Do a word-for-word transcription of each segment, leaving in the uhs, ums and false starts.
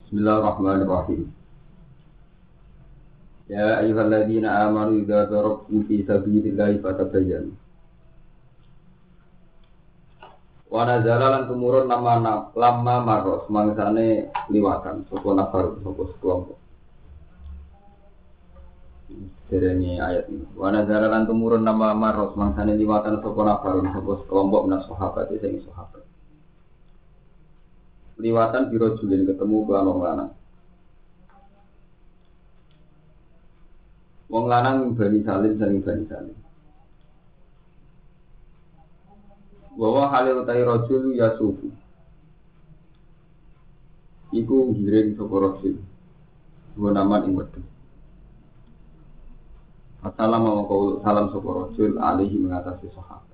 Bismillahirrahmanirrahim. Ya ayyuhalladzina amanu idza darabtum fi sabilillahi fatabayyanu. Wa nazala lan tumurun nama lama maros mangsane liwatan sapa nafar sapa sekelompok. Derenge ayat ini. Wa nazala lan tumurun nama maros mangsane liwatan sapa nafar sapa sekelompok minas sahabat sing sahabat. Liwatan biro julin ketemu kelan wong lanang. Wong lanang Bani Salim saling Bani Salim. Wa halil utai rajul yasufu. Iku ngiring sapa rajul. Wa naman ing wedhe. Assalamualaikum salam sapa rajul alaihi mengatasi sahabat.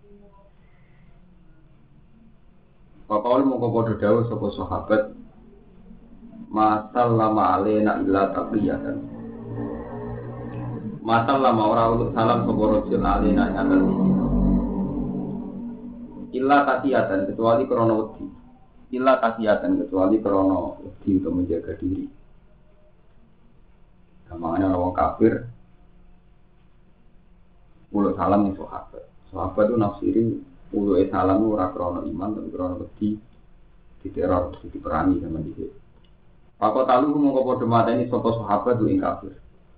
Pakawal mongko padha dawuh sapa sahabat masal lama alena illa taqiyatan. Masal lama ora salam sapa rajul alena atas iki. Illa taqiyatan kecuali krana wedi. Illa taqiyatan kecuali krana wedi untuk menjaga diri. Kamane orang kafir mulut salam ning sahabat. Sahabat itu nafsiri ulu salam ora krana iman tapi krana wedi diteror diperangi sama dhewe. Pakok talu mongko padha mateni sapa sahabat ing kafir.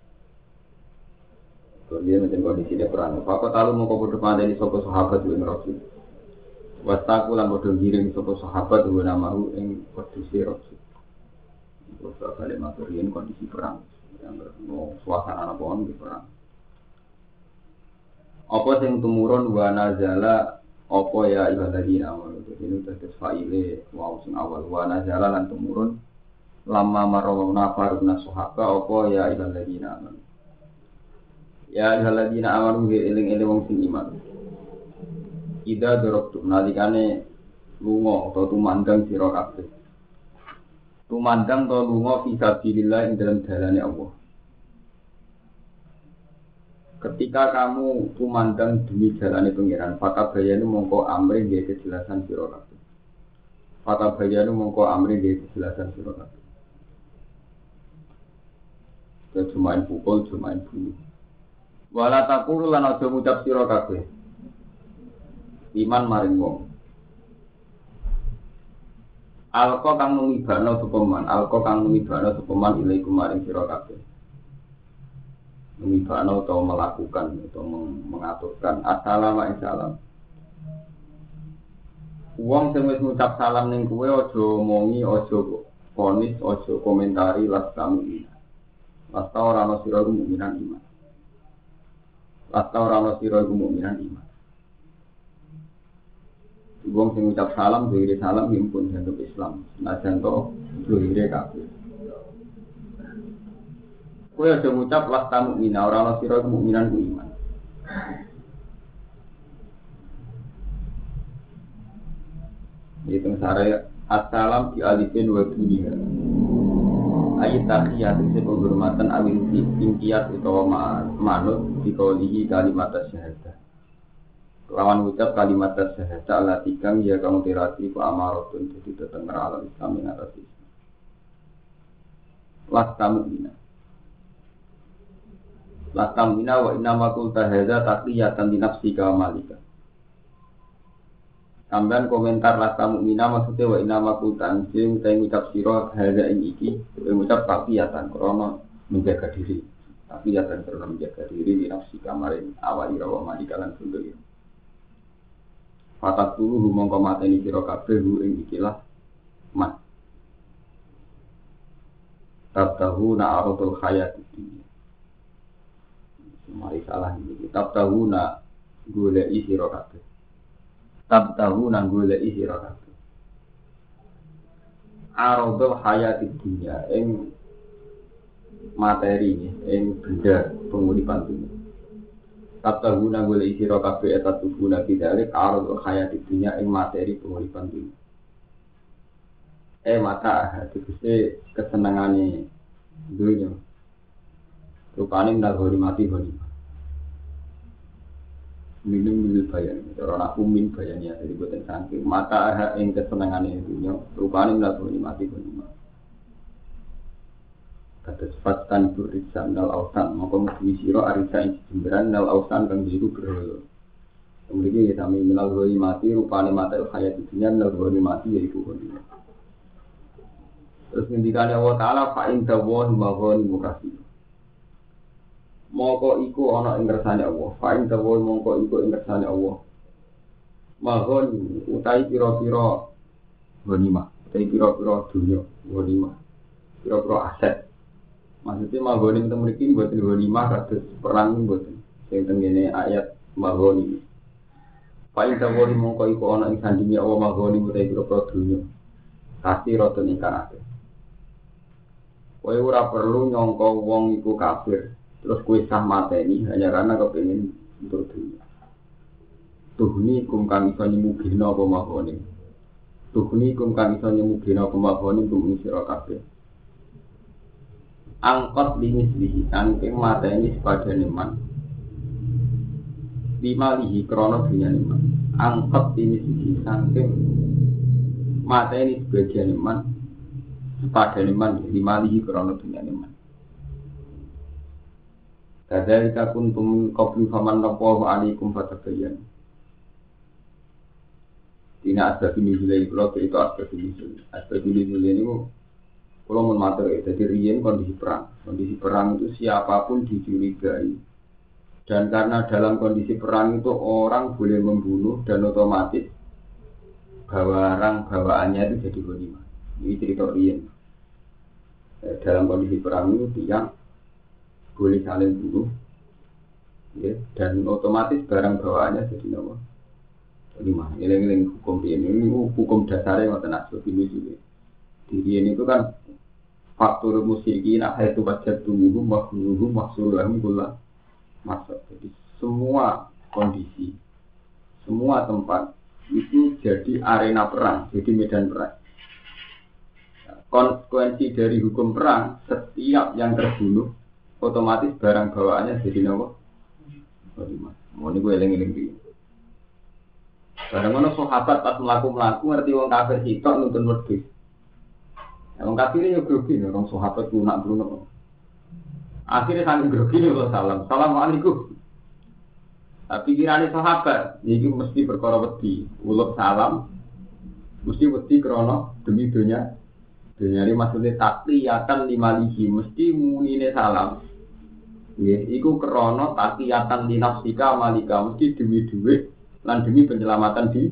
Kemudian macam kondisi dia perang. Pakok talu mongko padha mateni sapa sahabat ing Rasul. Wastaku lan padha ngiring sapa sahabat wa namahu ing kondisi Rasul. Terus kali materien kondisi perang yang no suasana apa on di perang. Apa sing tumurun wa nazala apa ya ibadina awal ini terus faile wow sing awal wa nazala lan tumurun lama marau nafar min sahabat apa ya ibadina aman ya ibadina aman eling-eling wong sing iman ida dorok nalikane lunga atau tumandang sira kabeh tumandang to lunga fi sabilillah ing dalam dalane Allah. Ketika kamu kumandang demi jalane pengiran, fata bayanu mongko amri nggih kejelasan sira kabeh. Fata bayanu mongko amri nggih kejelasan sira kabeh. Kecumain pukul, cumain bunuh. Wala taqulu lan aja ngucap sira kabeh. Iman maring wong. Alqa kang ngibano sapa man, alqa kang ngibano sapa man ilaikum maring sira kabeh. Mengibano atau melakukan atau mengaturkan assalamualaikum salam. Wong sing wis ngucap salam ning kowe aja omongi, aja ponis, aja komentari lastamu ini. Lasta ora ana sira mukminan iman. Lasta ora ana sira mukminan iman. Wong sing ngucap salam dhewe salam himpun jantung Islam. Senajan to dhewe kabeh. Kowe aja ngucap lasta mukmina ora ana sira mukminan ku iman. Itu sare assalam di alifin wa dunia. Ayat tahiyat itu penghormatan awil tingkiyat utawa manut dikolihi kalimat syahadah. Lawan ucap kalimat syahadah Allah tikang ya kamu tirati ku amaratun jadi teteng alam Islam ing atas Islam. Lasta mukmina Lakam mina wa inna makul tahadha taqliyatan di nafsika wa malika. Tambahan komentar lakam mina maksudnya wa inna makul ta'ansi utai ngucap siro hadha ing iki utai ngucap taqliyatan karena menjaga diri. Taqliyatan karena menjaga diri di nafsika maring awali rawa malika lan sunduri. Fatak dulu humong komateni siro kabeh hu ing ikilah mat. Tabtahu na'arotul khayat ini. Mari salah ini. Tab tahu nak golek sira kabeh. Tab tahu nak golek sira kabeh. Aradul hayati dunya ing materi ing benda penguripan dunya. Tab tahu nak golek sira kabeh eta tuguna bidalik aradul hayati dunya ing materi penguripan dunya. Eh mata tegese kesenengane dunya. Rupane ndak hori mati hori. Minum minum bayan, orang aku min bayan ya dari buatan sangking. Mata ing kesenangan dunia. Rupane ndak hori mati hori. Terus fatan burisa nal ausan, maka mesti siro arisa ing jemberan nal ausan kang diiku berhala. Kemudian kita minal goni mati rupane mata hayat dunia nal goni mati yaiku goni. Terus ngendikane Allah Taala fa in dawahi maghani mukasi. Moko iku ana ing kersane Allah, fa in dawahi mongko iku ing kersane Allah. Maghani utai pira-pira ghanimah, utai pira-pira dunya ghanimah. Pira-pira aset. Maksudnya maghani itu mriki mboten ghanimah kados perang mboten. Sing tengene ayat maghani. Fa in dawahi mongko iku ana ing sandinge Allah maghani utai pira-pira dunya. Kasih rada ingkang akeh. Kowe ora perlu nyangka wong iku kafir, terus kowe sah mateni hanya karena kepengin untuk dunia. Tuhni kum kang iso nyemugihna apa mahone. Tuhni kum kang iso nyemugihna apa mahone kum sira kabeh. Angkot limislihi angking mateni sepadane man. Bimalihi krana dunyane man. Angkot limislihi angking mateni sebagian man. Sepadane man bimalihi krana dunyane man. Kadzalika kuntum qablu faman naqahu alaikum fatabayyan. Dina asbab nuzul kula itu asbab nuzul. Asbab nuzul ini kula mun matur ya, dadi riyen kondisi perang. Kondisi perang itu siapapun dicurigai. Dan karena dalam kondisi perang itu orang boleh membunuh dan otomatis barang bawaannya itu jadi ghanimah. Ini cerita riyen. Dalam kondisi perang itu tiang boleh saling bunuh, ya, dan otomatis barang bawaannya jadi nama. Ghanimah. Ngiling-ngiling hukum ini, ini hukum dasarnya ngoten asbab nuzul. Diri ini itu kan faktor musyrikin ahaitu wajadtumuhum wa khuluhum mahsurulahum kullah masuk. Jadi semua kondisi, semua tempat itu jadi arena perang, jadi medan perang. Konsekuensi dari hukum perang, setiap yang terbunuh otomatis barang bawaannya jadi nama. Mau ini gue eling-eling dia. Barang-barang sahabat pas melaku-melaku ngerti wong kafir sitok nuntun wedhus. Wong kafir ini grogi, orang sahabat lunak bruno. Akhirnya saling grogi nih kalau salam, assalamualaikum. Tapi kirani sahabat, ini mesti perkara wedi, uluk salam, mesti wedi krono demi dunia. Dunia ini maksudnya takliyatan limalihi, mesti munine salam. Ya, iku krono takliyatan linafsika malika, mesti demi duit, lan demi penyelamatan di.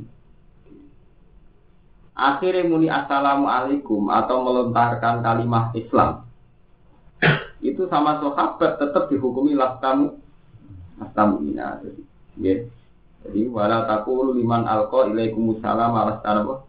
Akhirnya muni assalamualaikum atau melontarkan kalimat Islam. Itu sama sahabat tetap dihukumi lastamu lastamu ina. Jadi, ya. Jadi wala taqulu liman alqa ilaikumussalam alastanapa.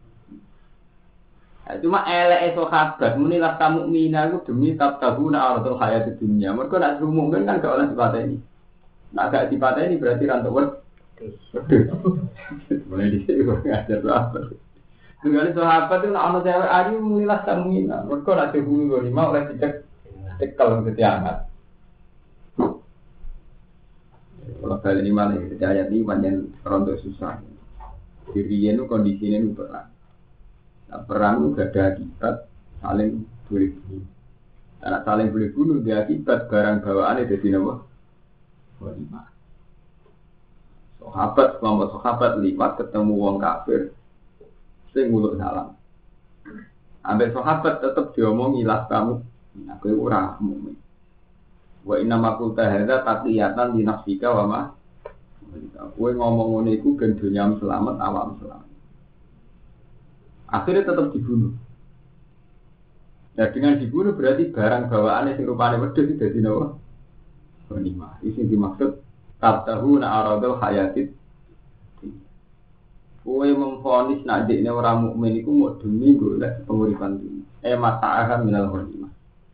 Nah, cuma eleke sahabat muni lastamu mina itu demi tabtaguna aradul hayatid dunya. Mergo nek diumumkan kan gak oleh dipateni. Nek gak dipateni berarti ra entuk wedhus. Mulai dhisik kok ngajar sahabat. Dengan sahabat itu nak ono cewek ayu mulilah samina. Mergo nek dihuni ghanimah oleh dicek tekel ketiangat. Kalau kali ini malah ayat ini banyak rontok susah. Dirinya itu kondisinya itu perang. Nah, perang itu gak ada akibat saling boleh bunuh. Karena saling boleh bunuh dia akibat barang bawaannya jadi apa? Ghanimah. Sahabat, kelompok sahabat lipat ketemu wong kafir. Sing nguluk salam. Ambek sahabat tetap diomongi lah kamu. Aku ora mukmin. Wa inna ma qulta hadza taqiyatan li nafsika wa ma. Kowe ngomong ngene iku ben dunyam selamat awam selamat. Akhirnya tetap dibunuh. Nah dengan dibunuh berarti barang bawaannya sing rupane wedhus iki dadi napa? Ghanimah. Iki dimaksud tabtahuna aradul hayatid. Kowe memfonis nak dekne ora mukmin iku mau demi golek penguripan dunya. Eh mata'aha minal ghanimah.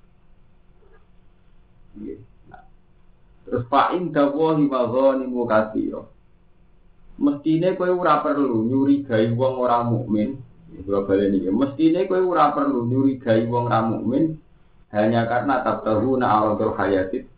Nggih. Nah. Terus fa'in dawahi maghanimu katsira. Mestine kowe ora perlu nyurigai wong ora mukmin. Kula baleni iki. Mestine kowe ora perlu nyurigai wong ora mukmin hanya karena tabtahuna aradul hayatid.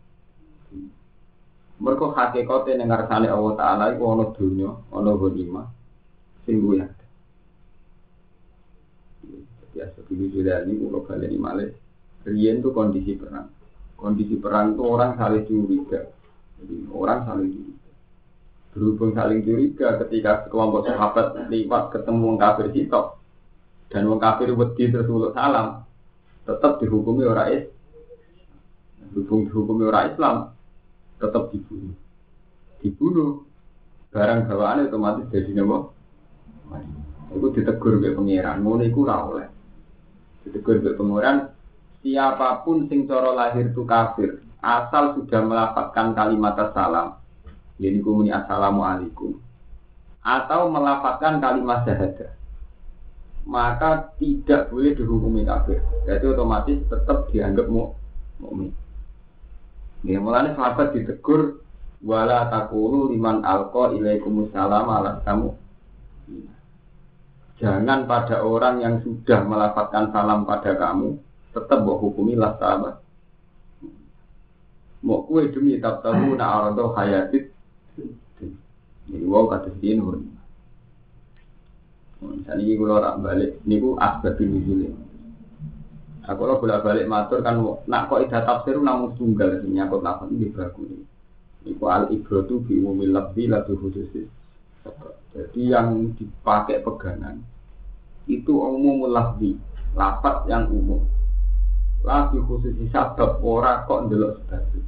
Mergo hakikate ning ngarsane Allah Taala iku ana dunya, ana ghanimah. Singgu ya. Biasa begini juga ini kalau kalian ini malah Riyen itu kondisi perang. Kondisi perang itu orang saling curiga. Jadi orang saling curiga. Berhubung saling curiga ketika kelompok sahabat lewat ketemu wong kafir sitok dan wong kafir wedi terus uluk salam, tetap dihukumi orang Islam. Berhubung dihukumi orang Islam, tetap dibunuh. Dibunuh, barang bawaan otomatis jadi nama. Itu ditegur oleh pengiran, ngono iku ora oleh. Ditegur oleh pengiran, siapapun sing cara lahir itu kafir, asal sudah melafazkan kalimat salam. Jadi kumuni assalamualaikum atau melafazkan kalimat syahadah, maka tidak boleh dihukumi kafir. Jadi otomatis tetap dianggap mukmin. Ini mulanya sahabat ditegur wala taqulu liman alqa ilaikumussalam ala kamu. Jangan pada orang yang sudah melafazkan salam pada kamu tetap mbok hukumi lah sahabat. Mau kue demi tak tahu na arado hayatit. Ini wow kata sini pun. Misalnya ini kalau orang balik, ini ku asbab nuzul. Aku kalau bolak balik matur kan, nak kok idah tafsir namun tunggal menyangkut lafaz ini bagus. Ini ku al ibratu bi umumil lafzi la bi khususis. Jadi yang dipakai pegangan itu umumul lafzi, lafaz yang umum. La bi khususis sabab ora kok ndelok sebab.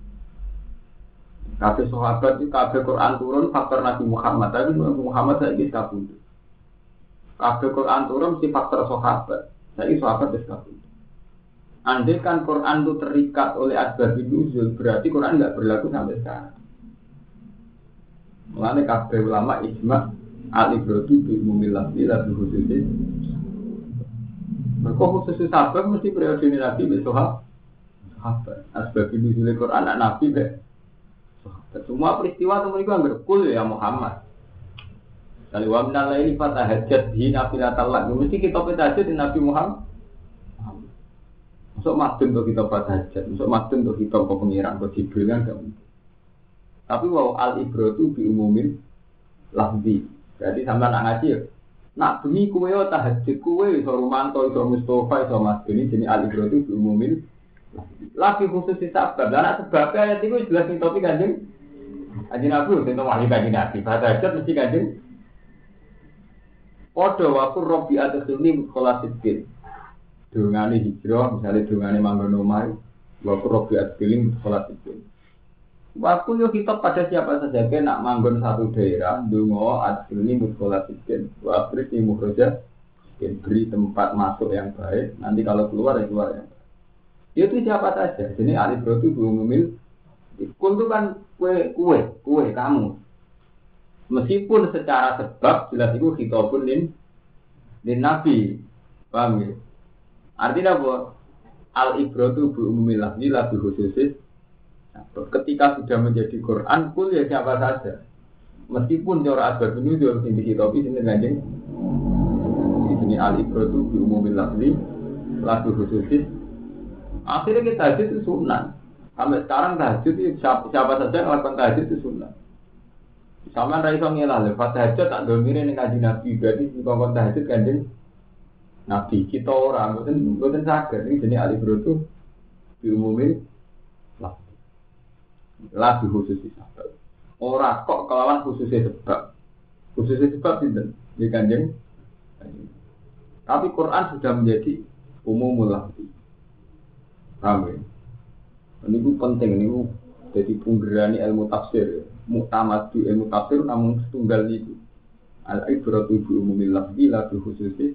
Kabeh sahabat itu kabeh Quran turun faktor Nabi Muhammad, tapi Nabi Muhammad saiki kabeh. Kabeh Quran turun si faktor sahabat. Saiki sahabat wis kabeh. Andai kan Quran itu terikat oleh asbab nuzul, berarti Quran enggak berlaku sampai sekarang. Mulane kabeh ulama ijma al-ibratu bi umumil lafzi la bi khususis. Mergo khusus sahabat mesti periode Nabi wis sahabat. Asbab nuzul Quran anak Nabi be. Semua peristiwa itu mereka berkul ya Muhammad. Kalau wa minal laili fatahajjat bihi nafilatan lak. Mesti kita tahajud di Nabi Muhammad. Masuk madun untuk kita fatahajjat, masuk madun untuk kita ke pengiran ke Jibril kan enggak mungkin. Tapi wow al ibratu bi umumin lafzi. Jadi sampean nak ngaji ya. Nak bengi kowe tahajud kowe iso Rumanto, iso Mustofa, iso Mas Beni jenenge al ibratu bi umumin lagi khusus di sabab. Karena sebabnya ayat itu jelas nih topik kanjeng. Kanjeng Nabi itu wahyu kanjeng Nabi. Bahasa hajat mesti kanjeng. Podo wakur robi atas ini sekolah sidin. Dungane hijrah, misalnya dungane manggon omah. Wakur robi atas ini sekolah sidin. Waktu yo kita pada siapa saja ke nak manggon satu daerah. Dungo atas ini sekolah sidin. Waktu ini mukhroja. Beri tempat masuk yang baik. Nanti kalau keluar ya keluar yang baik. Itu siapa saja. Jadi alif rotu belum memil. Kul itu kan kue, kue, kue kamu. Meskipun secara sebab jelas itu khitabun lin lin nabi. Paham ya? Artinya apa? Al ibratu bi umumil lafzi la bi khususis. Ketika sudah menjadi Quran, kul ya siapa saja. Meskipun cara asbab nuzul sing dihitopi sing kanjeng. Di sini al ibratu bi umumil lafzi la bi khususis. Akhirnya kita tahajud itu sunnah. Sampai sekarang tahajud itu siapa, siapa saja yang melakukan tahajud itu sunnah. Sama Raisa ngelah, lepas tahajud tak domirin yang kaji Nabi. Berarti melakukan tahajud kanjeng Nabi. Kita orang, bukan bukan sakit. Ini jenis alif rotu diumumin lah. Lah di khusus sebab. Orang kok kelawan khususnya sebab. Khususnya sebab tidak di kanjeng. Tapi Quran sudah menjadi umumul lafzi. Paham ya? Ini itu penting, ini itu jadi penggerani ilmu tafsir. Muktamadu ilmu tafsir namun setunggal itu. Al-ibratu bi umumil lafzi la bi khususis.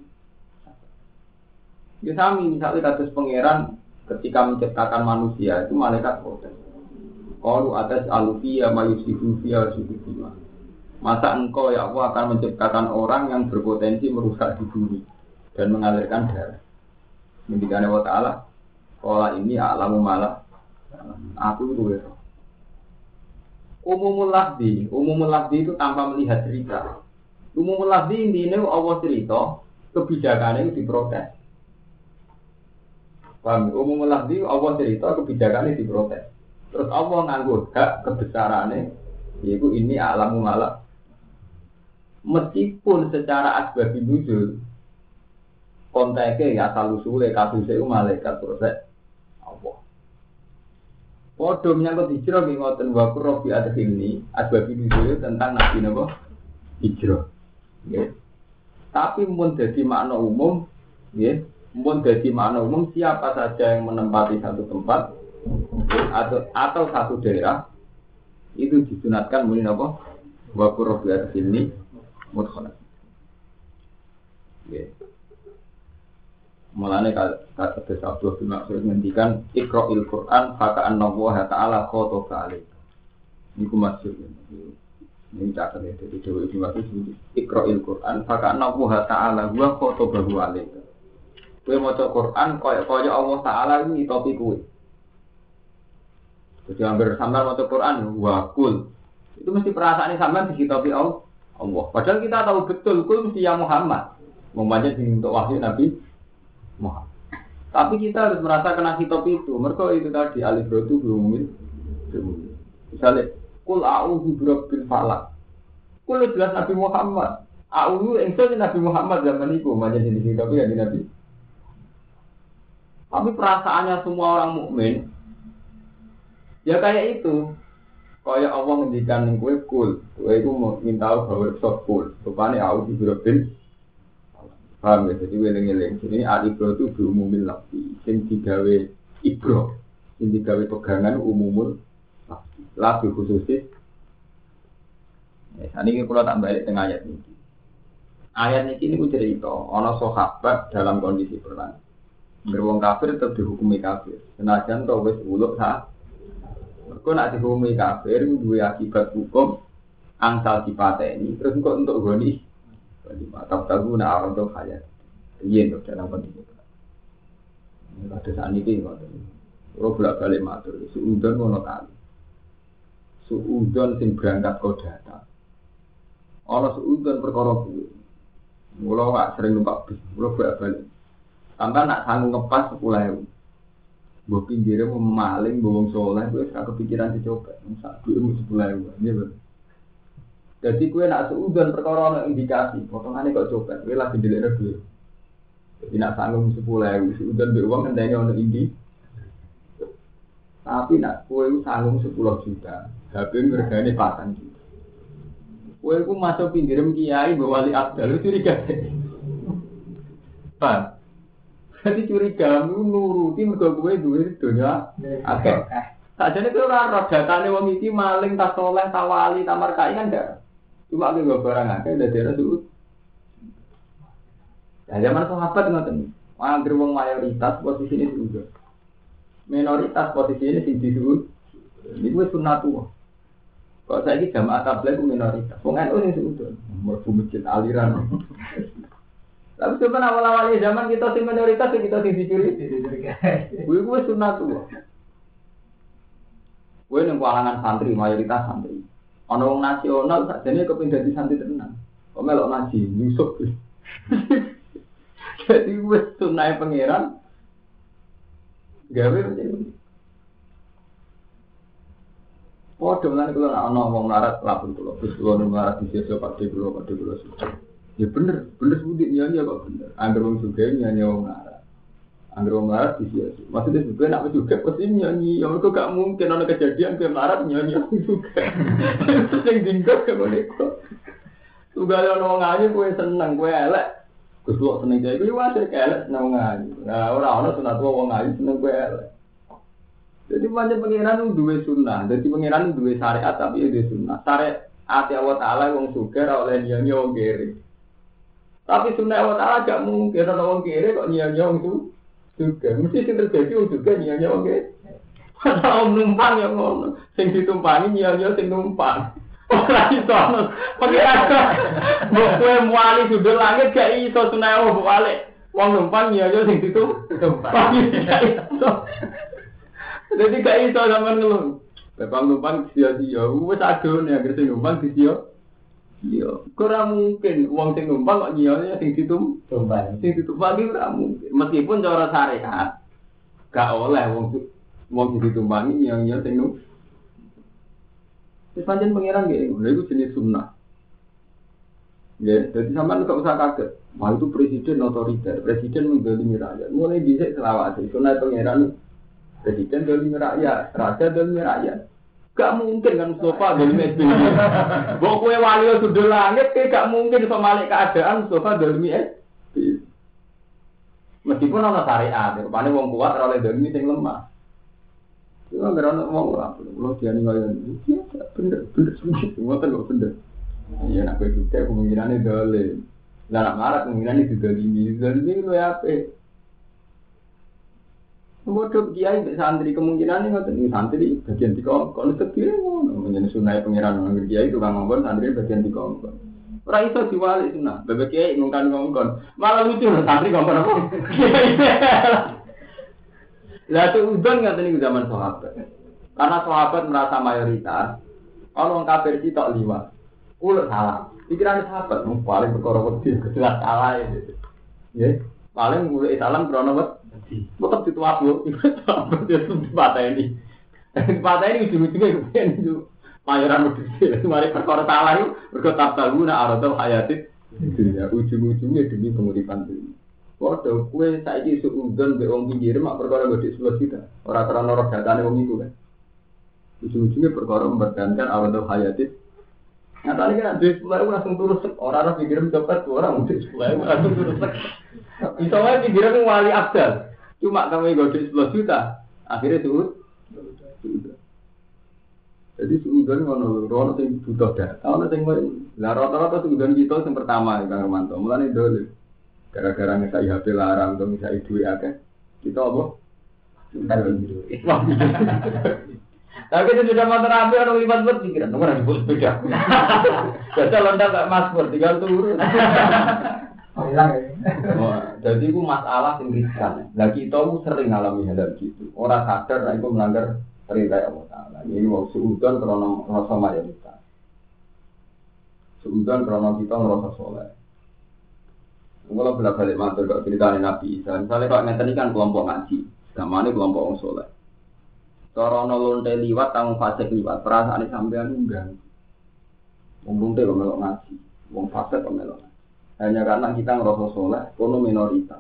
Ya sami misalnya kasus pangeran ketika menciptakan manusia itu malaikat protes. Qalu atas alufiya mayusifu fiya subhana. Masa engkau ya Allah akan menciptakan orang yang berpotensi merusak di bumi dan mengalirkan darah. Ngendikane wa ta'ala Kala ini alamu malah aku itu ya. Umumul lafzi, umumul lafzi itu tanpa melihat cerita. Umumul lafzi intinya Allah cerita, kebijakannya itu diprotes. Paham? Umumul lafzi Allah cerita, kebijakannya diprotes. Terus Allah nganggur hak kebesarannya, yaitu ini alamu malah. Meskipun secara asbab nuzul konteknya ya asal usulnya kasusnya itu malaikat proses. Podo menyangkut hijrah nggih ngoten wa qurbi adkhilni asbab nuzul tentang nabi napa hijrah. Nggih. Tapi mun dadi makna umum nggih, mun dadi makna umum siapa saja yang menempati satu tempat atau atau satu daerah itu disunatkan muni napa wa qurbi adkhilni mudkhalan. Nggih. Mulane kata Abdul bin Mas'ud ngendikan Iqra'il Qur'an faka'anna Allah ta'ala khotaba alaik. Niku maksud ini catat ya dari Dewi Ibnu Mas'ud Iqra'il Qur'an faka'anna Allah ta'ala wa khotabahu alaik. Kowe maca Qur'an kaya-kaya Allah Ta'ala iki ngitopi kowe. Jadi hampir sampean maca Qur'an wa kul. Itu mesti perasaane sampean dikitopi Allah. Padahal kita tahu betul kul mesti ya Muhammad. Membaca untuk wahyu Nabi Muhammad. Tapi kita harus merasa kena hitop itu. Mereka itu tadi alif rotu berumil. Misalnya, kul a'udzu birabbil falaq. Kul jelas Nabi Muhammad. A'udzu engso Nabi Muhammad zaman itu macam jenis hitop ya di Nabi. Tapi perasaannya semua orang mukmin ya kayak itu. Kayak Allah ngendikan ning kowe kul. Kowe iku minta bahwa sok kul. Rupane a'udzu birabbil paham ya, jadi weleng-weleng. Jadi al-ibro itu berumumil lafzi. Yang digawe ibro, yang digawe pegangan umumul lafzi. Lafzi khususis. Nah, ini kalau tak balik tengah ayat ini. Ayat ini ini cerita, ada sahabat dalam kondisi perang. Beruang kafir tetap dihukumi kafir. Senajan kau wes uluk sah. Kau nak dihukumi kafir, dua akibat hukum angsal dipateni. Terus kau untuk goni. Mata tahu nak orang tu kaya, iya tu dalam kondisi itu. Ada saat ini kan, orang bolak balik matur. Suudon mono kali, suudon sing berangkat kau datang. Orang suudon perkara gue, mulau tak sering numpak bis, mulau bolak balik. Tambah nak sanggup ngepas sepuluh ribu. Gue pinggirnya mau maling, bawang soleh, gue sekarang kepikiran dicoba. Masa gue mau sepuluh ribu, ni ber. Jadi kue nak seudon perkara indikasi, potongannya kok coba, kue lagi dilihat dulu. Jadi nak sanggup sepuluh ribu, seudon beruang kendanya ono indi. Tapi nak kue sanggup sepuluh juta, H P harganya patang juta. Kue ku masuk pinggiran kiai bawali abdal, curiga. Pak, jadi curiga nuruti mergo kue duit dunia. Oke. Sajane kue ora roh datane wong iki maling tas soleh tawali tamar kai kan ndak. Cuma aku gak barang akeh dari daerah Suud. Ya zaman sahabat ngoten. Angger wong mayoritas posisi ini Suud. Minoritas posisi ini sing di Suud. Iki wis sunatullah. Kok saiki jamaah tabligh ku minoritas. Wong N U sing Suud. Mlebu masjid aliran. Tapi sebenarnya awal-awal zaman kita sing minoritas kita sing dicuri. Kuwi wis sunatullah. Kuwi nang kalangan santri mayoritas santri. Ana wong nasional sakjane kepengin dadi santri tenan. Kok melok ngaji, nyusuk. Jadi wis sunai pangeran gawe macam. Padha lan kula ana wong larat lapun kula, terus kula larat disiso Pakde kula, Pakde kula suka. Ya bener, bener budi nyanyi kok bener. Angger wong sugih nyanyi wong larat. Angger wong larat disiso. Maksudnya juga nak juga pasti nyanyi, ya kok gak mungkin ana kejadian ke larat nyanyi juga. Sing dingkok ngene kok. Tugale ana wong ngaji kowe seneng, kowe elek. Gus kok seneng dhewe kuwi wae elek seneng ngaji. Nah, ora ana sunat wong ngaji seneng kowe elek. Jadi banyak pengiran duwe sunnah, jadi pengiran duwe syariat tapi duwe sunnah. Syariat Allah Taala wong sugih ora oleh nyanyi wong kiri. Tapi sunnah Allah Taala gak mungkin ana wong kiri kok nyanyi wong itu juga. Mesti sing terjadi wong juga nyanyi wong kiri. Ana numpang yang ngono, sing ditumpangi nyanyi sing numpang. Ora iso ono pengiran. Mbok kowe muali sudut langit gak iso sunnah Allah balik. Wong numpang nyanyi sing ditumpangi. Jadi gak iso sampean ngeluh. Bapak numpang sia-sia, wis adone anggere sing numpang sia. Iya, ora mungkin wong sing numpang kok nyione sing ditumpangi. Sing ditumpangi ora mungkin. Meskipun cara syariat gak oleh wong wong sing ditumpangi nyione sing numpang. Wis pancen pangeran nggih, lha iku jenis sunnah. Ya, jadi sampean gak usah kaget. Wah itu presiden otoriter, presiden menggolimi rakyat. Mulai dhisik selawase, sunah pangeran Presiden dolimi rakyat, raja dolimi rakyat. Gak mungkin kan Mustafa dolimi S B Y. Mbok kowe wali sudul langit ke gak mungkin iso malik keadaan Mustafa dolimi S B Y. Meskipun ana syariat, rupane wong kuat ora oleh dolimi sing lemah. Iku anggere ana wong ora perlu diani kaya iki bener bener ngoten kok bener. Iya nak kowe juga kemungkinane dolim. Lah nak marah kemungkinane didolimi. Dolimi lho apik. Bodoh kiai mbek santri kemungkinan ngoten iki santri bagian dikongkon sedire ngono menjadi sunah pangeran nang kiai tukang ngongkon santri bagian dikongkon. Ora iso diwalik sunah. Bebek kiai ngongkon ngongkon. Malah lucu santri ngongkon apa? Lah itu udon ngaten niku zaman sahabat. Karena sahabat merasa mayoritas, kalau wong kafir sitok liwat. Ulah salah. Pikiran sahabat mung paling perkara wedi jelas salah ya. Nggih. Paling mulai salam krono wedi. Tetep dituapu, tetep dipatah ini. Dipatah ini ujung-ujungnya kemudian itu mayoran wedi. Mari perkara salah itu mergo tabtaluna aradul hayatit dunya. Ujung-ujungnya demi penguripan dunia. Waduh, kue saiki suudon be wong pinggir mak perkara gede sepuluh juta. Ora karena roh datane wong iku kan. Ujung-ujungnya perkara mempertahankan aradul hayatit. Nyatane kan duit sepuluh langsung turun sek. Ora ora pinggir copet orang duit sepuluh langsung turun sek. Iso wae pikiran wali abdal. Cuma kamu gede sepuluh juta, akhirnya turun. Jadi suudon ngono, ono sing butuh data, ono sing lah rata-rata suudon kita sing pertama Kang Romanto. Mulane dole. Gara-gara ngesai H P larang atau ngesai duit akeh. Kita apa? Suudon duit. Tapi itu sudah motor api orang lipat buat pikiran, nomor disebut sepeda. Jadi lontar kayak Mas Pur, tinggal turun. Hilang ya. Jadi itu masalah yang riskan. Nah kita sering alami hal gitu. Orang sadar, nah itu melanggar perintah Allah Taala. Ini mau suudon karena rasa mayoritas. Suudon karena kita merasa soleh. Kalau bolak-balik matur kalau ceritanya Nabi Isa, misalnya kalau ngeten kan kelompok ngaji, gamane kelompok wong soleh. Cara ana lonte liwat tang fasik liwat, perasaane sampean enggak. Wong lonte kok melok ngaji, wong fasik kok melok. Hanya karena kita ngerasa soleh, kono minoritas.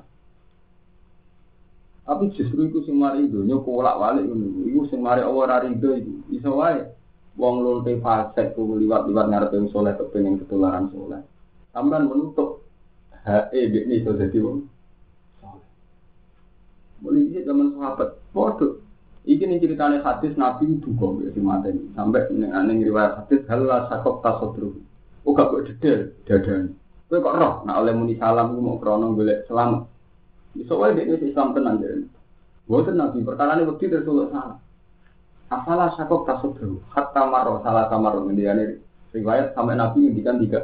Tapi justru itu sing mari donya kolak-walik ngono. Iku sing mari Allah ora rido iku. Iso wae wong lonte fasik ku liwat-liwat ngarepe wong soleh kepengin ketularan soleh. Sampeyan menutup hak e iki iso dadi wong soleh. Mulai iki zaman sahabat, padha iki ning ceritane hadis Nabi duka mbek si mateni sampai ning riwayat hadis halal sakok tasodru. Oh gak kok dedel dadane. Kowe kok roh nek oleh muni salam ku mau krana golek selamat. Iso wae dene Islam tenan jare. Mboten Nabi perkarane wedi terus salah. Asalah sakok tasodru hatta maro salah kamar ngendikane riwayat sampai Nabi ngendikan tiga.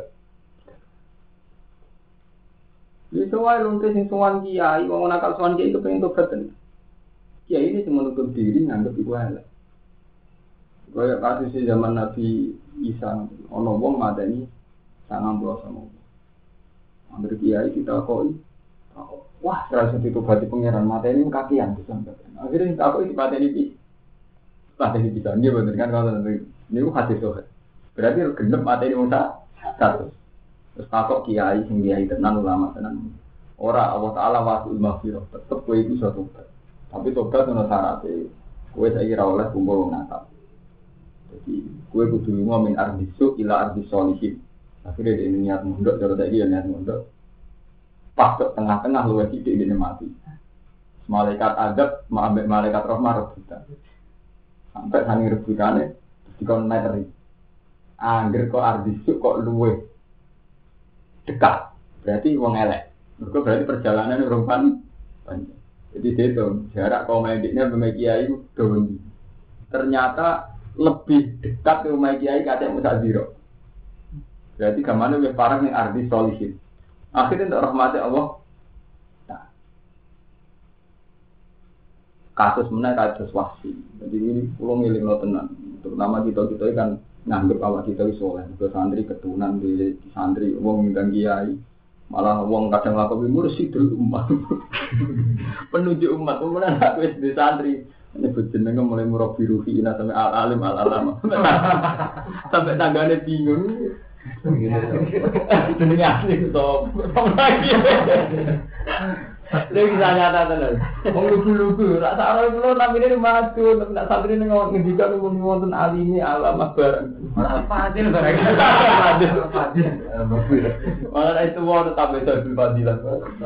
Iso wae lonte sing sowan kiai wong nakal sowan kiai kepengin tobat tenan. Ya ini cuma untuk diri nganggep iku elek. Kaya kasus zaman Nabi Isa ana wong madani sangang puluh sama. Ambil kiai kita koi. Wah, terasa ditobati pangeran mateni kakian disampeyan. Akhirnya tak kok dipateni iki. Pateni bisa dia bener kan kalau niku hadis sohe. Berarti genep mateni wong sak satu. Terus takok kiai sing kiai tenan ulama tenan. Ora Allah Taala wasul maghfirah, tetep kowe iku iso tobat. Tapi tobat ana syaratnya, kowe saiki ra oleh kumpul wong nakal. Jadi kowe kudu lunga min ardisu ila ardis sholihin. Akhirnya dia niat mondok, cara saiki ya niat mondok. Pas ke tengah-tengah luwih sithik dene mati. Malaikat adab ambek malaikat rahmah rebutan. Sampai saking rebutane dikon meteri. Angger kok ardisu kok luwih dekat. Berarti wong elek. Mergo berarti perjalanan urung panjang. Jadi itu jarak kau main diknya sama kiai itu doang. Ternyata lebih dekat ke rumah kiai kata Musa Ziro. Berarti kemana lebih parah yang arti solihin. Akhirnya untuk rahmati Allah. Nah, kasus mana kasus wahsi. Jadi ini pulau milik lo tenang. Terutama kita kita kan nganggep awak kita itu soleh. Ke santri keturunan di santri wong dan kiai. Malah wong kadang lakukan mursyidul umat. Penunjuk umat, kemudian aku di santri. Ini berjenengnya mulai murabi ruhi ina sampai al-alim al-alama. Sampai tangganya bingung. Jenengnya asli itu. Lha bisa nyata tenan. Wong lugu-lugu, rak sak roe kula namine maju, nek nak santri ning ngendikan wong wonten alime alamah barang. Ora fadil barang. Fadil, fadil. Ora itu wae tambah itu fadilah.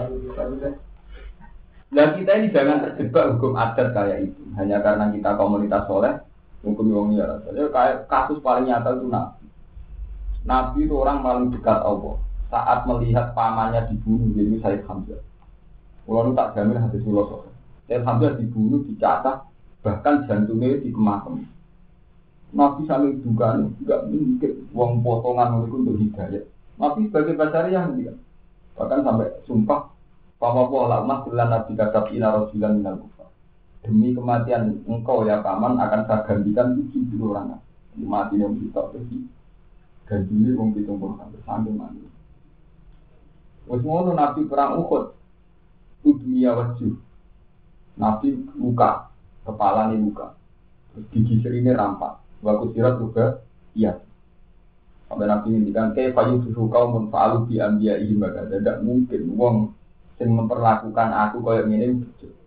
Nah kita ini jangan terjebak hukum adat kayak itu. Hanya karena kita komunitas soleh, hukum wong liya. Jadi kayak kasus paling nyata itu Nabi. Nabi itu orang paling dekat Allah. Saat melihat pamannya dibunuh, jadi Sayyid Hamzah. Kalau itu tak jamin hadis filosofi. Sayyid Hamzah dibunuh, dicatat, bahkan jantungnya dikemasem. Nabi sambil duga nih, tidak mungkin uang potongan itu untuk hidayah. Nabi sebagai bacaria yang bahkan sampai sumpah, Papa pola umat bilang Nabi kata ina rasulan minal kufar. Demi kematian engkau ya paman akan saya gantikan tujuh puluh orang. Mati yang kita pergi gantinya uang pitung puluh sampai sampai mati. Wes ngono Nabi perang Uhud, dunia wajib. Nabi luka, kepala ini luka, terus gigi serine rampak. Waktu sirat juga, iya. Sampai Nabi ngintikan, kayak payu susu kau menfaalu di ambia ihim baga. Tidak mungkin, wong yang memperlakukan aku kayak gini.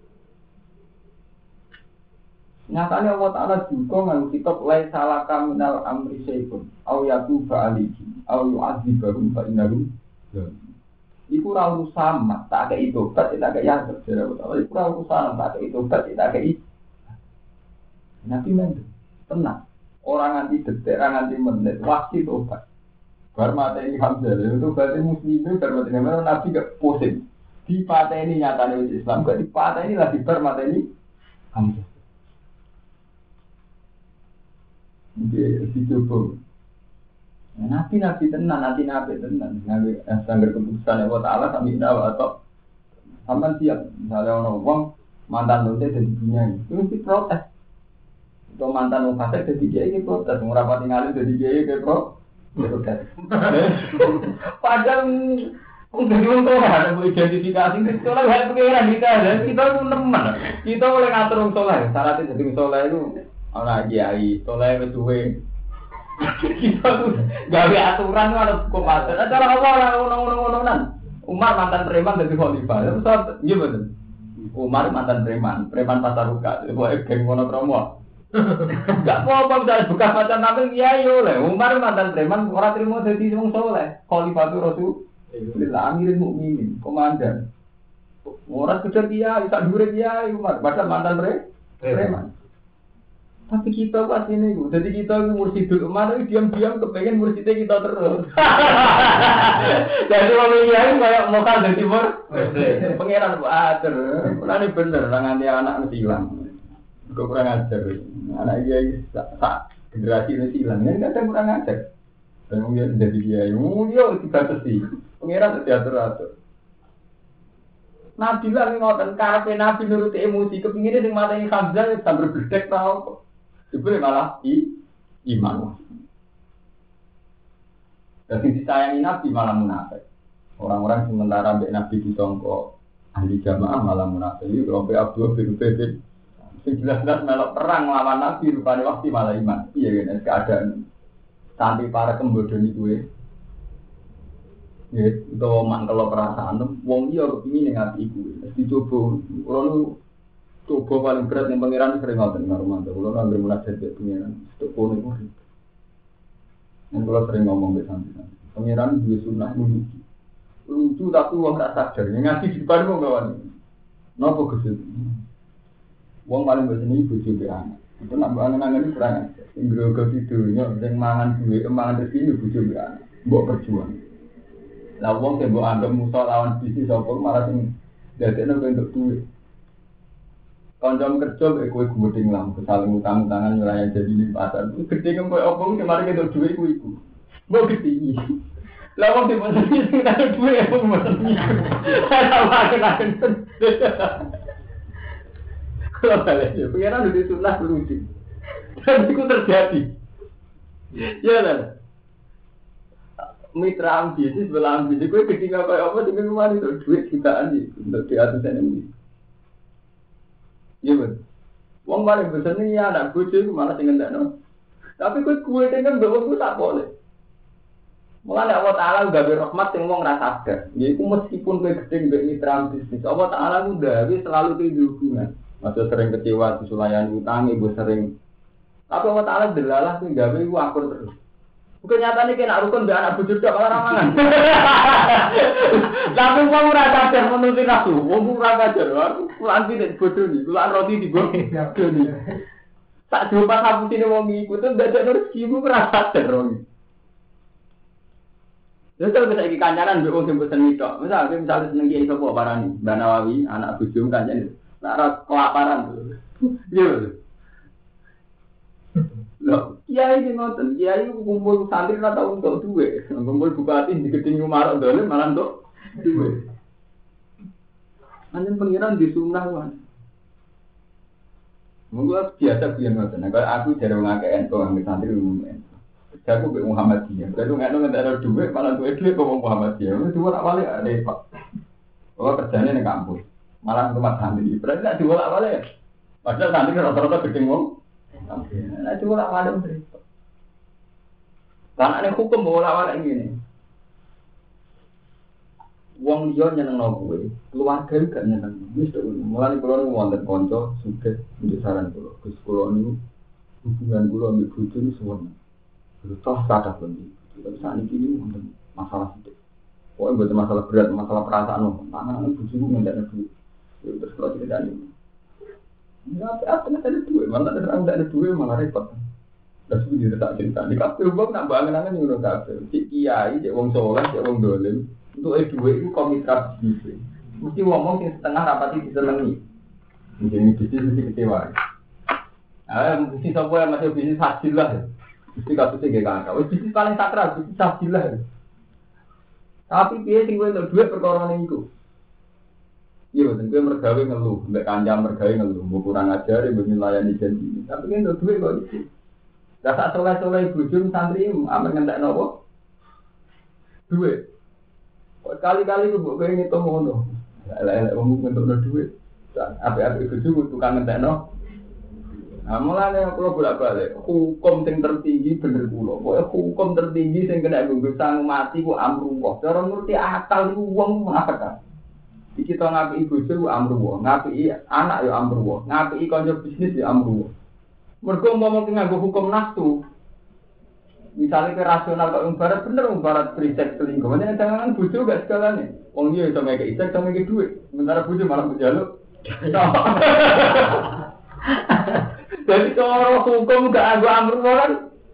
Nyatanya Allah Ta'ala juga ngang kitab lai salaka minal amri syai'un au yatu fa'aliki au yu'adzibahum fa'inahum iku ra urusan tak ada itu tak ada yang terjadi iku ra urusan tak ada itu tak ada itu Nabi men tenang orang nganti detik orang nganti menit wasi tobat bar mateni Hamzah itu berarti muslimin bar mateni Nabi gak pusing di pateni nyatane Islam gak di pateni lagi bar mateni Hamzah dia dicoba. Nabi nabi tenan, nabi nabi tenan. Nabi sangger keputusan Allah Taala sampai dawa atau sampai siap. Misalnya orang uang mantan dosa dari dunia ini, itu mesti protes. Atau mantan orang kasar dari dia ini protes. Mengapa tinggalin dari dia ini protes. Padahal untuk diuntung ada identifikasi itu lah hal pengiran kita. Kita itu teman. Kita boleh ngatur orang soleh. Syaratnya jadi soleh itu. Orang kiai, toleh besuwe. Kita tuh gawe aturan ada hukum adat. Cara apa orang orang-orang Umar mantan preman jadi khalifah. Terus iya betul. Umar mantan preman, preman pasar buka. Buat geng mono promo. Gak apa-apa bisa buka macam nabi kiai oleh. Umar mantan preman orang terima jadi wong soleh. Khalifah itu rasul. Bila amirin mukminin, komandan. Orang kejar kiai, tak dure kiai Umar. Padahal mantan preman. Tapi kita pas ini, jadi kita mursidul umat itu diam-diam kepengen mursidnya kita terus. Jadi orang yang kayak mau kan dari timur, pangeran buat terus. Ini bener, nanti anak mesti hilang. Gue kurang ajar, anak dia sak generasi ini hilang, ini kadang kurang ajar. Dan dia jadi dia, dia tidak sesi, pangeran diatur-atur. Nabi lah ngoten karepe Nabi nuruti emosi, kepingine sing mateni Hamzah sambil berdek tau. Sebelum malah i, iman. Jadi disayangi Nabi malah munafik. Orang-orang sementara mbek Nabi disangka ahli jamaah malah munafik. Iki kelompok Abdul bin Ubay. Sing jelas-jelas melok perang lawan Nabi rupane waktu malah iman. Iya kan keadaan sampai para kembodoni kuwe. Ya, itu mangkel perasaan wong iya kepingin ning ati iku. Wis dicoba ora coba paling berat yang pangeran sering ngoten karo mantu. Kulo nang mulai dadi pangeran, itu kono iku. Nek kulo sering ngomong mbek sampeyan. Pangeran duwe sunah lucu. Lucu tapi wong ora sadar. Ngaji di depan wong gawane. Napa Gusti? Wong paling beseni bojo mbek anak. Itu nak angen-angen iki kurang aja. Sing grogo tidurnya sing mangan duwe, mangan rezeki bojo mbek anak. Mbok perjuang. Lah wong sing mbok anggap musuh lawan bisnis apa malah sing dadekno untuk duwe. Kanjong kerja kayak kue gudeng lah, saling utang utangan wilayah jadi limpatan. Gede kan kue opong kemarin kita duit kue itu, mau gede. Lawang di mana sih kita duit apa macam ni? Kalau makan makan tu. Kalau balik je, pengiran udah sunnah lucu. Dan itu terjadi. Ya lah. Mitra ambisi sebelah ambisi, kue gede nggak kayak apa dengan kemarin itu duit jutaan ni untuk di atas ini. Iya betul. Wong paling besar ni ya anak kucing malah tinggal tak no. Tapi kue kue dengan bawa tu tak boleh. Mulane Allah Taala gawe rahmat sing wong ra sadar. Yaiku meskipun kowe gedhe mbek mitra bisnis, Allah Taala ku gawe selalu kudu hubungan. Masih sering kecewa disulayan utang, ibu sering. Tapi Allah Taala delalah ku gawe ku akur terus. Bukan nyatane kena rukun mbek anak bojo tok malah ramangan. Tapi wong ora sadar menuti nafsu, wong ora sadar. Kulaan iki bodoh iki, kulaan roti digo. Tak jumpa kapusine wong iku tuh dadak rezeki ku ora sadar wong. Terus kalau kita kancanan mbek wong sing bosen mitok. Misal misalnya seneng kiai sapa parani, Mbak Nawawi, anak bojo kancane. Nek ora kelaparan. Iya. Loh, kiai iki ngoten, kiai kumpul santri ora tau entuk dhuwit. Kumpul bupati digedeng Umar dolen malah entuk dhuwit. Anjen pengiran disunah wae. Monggo biasa biyen ngoten. Nek aku jare wong akeh entuk nang santri umum. Aku be Muhammadiyah. Kalau nggak nggak ada duit, malah duit duit kok Muhammadiyah. Itu dua awalnya repot. Oh kerjanya di kampus, malah rumah santri. Berarti nggak dua awalnya. Padahal santri rata-rata gedeng wong. Nah dua awalnya repot. Karena ada hukum bola awalnya gini. Wong dia nyeneng nopo, keluarga juga nyeneng. Mister, mulai kalau wonten konco, sudah untuk saran kalau ke sekolah ini hubungan kalau ambil bujuk ini semua. Toh kata pun tapi saat ini untuk masalah itu. Pokoknya bukan masalah berat, masalah perasaan loh. Tangan anak bujuk nggak ada duit. Terus kalau tidak ada ini, nggak apa apa ada duit, malah ada orang tidak ada duit malah repot. Terus itu tidak cerita. Di kafe uang nak bangun-bangun yang udah kafe. Cik kiai, cik wong soleh, cik wong dolim. Untuk eh duit itu komitra bisnis. Mesti ngomong yang setengah rapati disenangi. Mungkin bisnis mesti kecewa. Ah, bisnis apa yang masih bisnis hasil lah. Mesti kasusnya gak kakak, wis bisnis paling sakral, bisnis sajilah. Tapi dia sing kowe entuk dhuwit perkara ning iku. Iya, betul kowe mergawe ngeluh, mbek kancam mergawe ngeluh, mbok kurang ajar, mbok nylayani janji. Tapi kan entuk dhuwit kok iki. Lah sak soleh-soleh bojo santri amen ngentekno apa? Dhuwit. Kok kali-kali kok kowe ngitung ngono. Lah lek wong ngentukno dhuwit. Apik-apik bojo tukang ngentekno. Nah, mulane kula bolak-balik, hukum sing tertinggi bener kula. Pokoke hukum tertinggi sing kena nggo sang mati ku amruwah. Cara ngerti akal iku wong munafik. Iki to ngapiki bojo ku amruwah, ngapiki anak ya amruwah, ngapiki kanca bisnis ya amruwah. Mergo umpama nganggo hukum nafsu. Misalnya ke rasional kok ibarat bener ibarat prisek selingkuh. Makanya jangan bojo gak segalane. Wong dia iso ngekek isek, iso ngekek dhuwit. Sementara bojo malah njaluk. Jadi cara hukum gak anggo amruwah kan.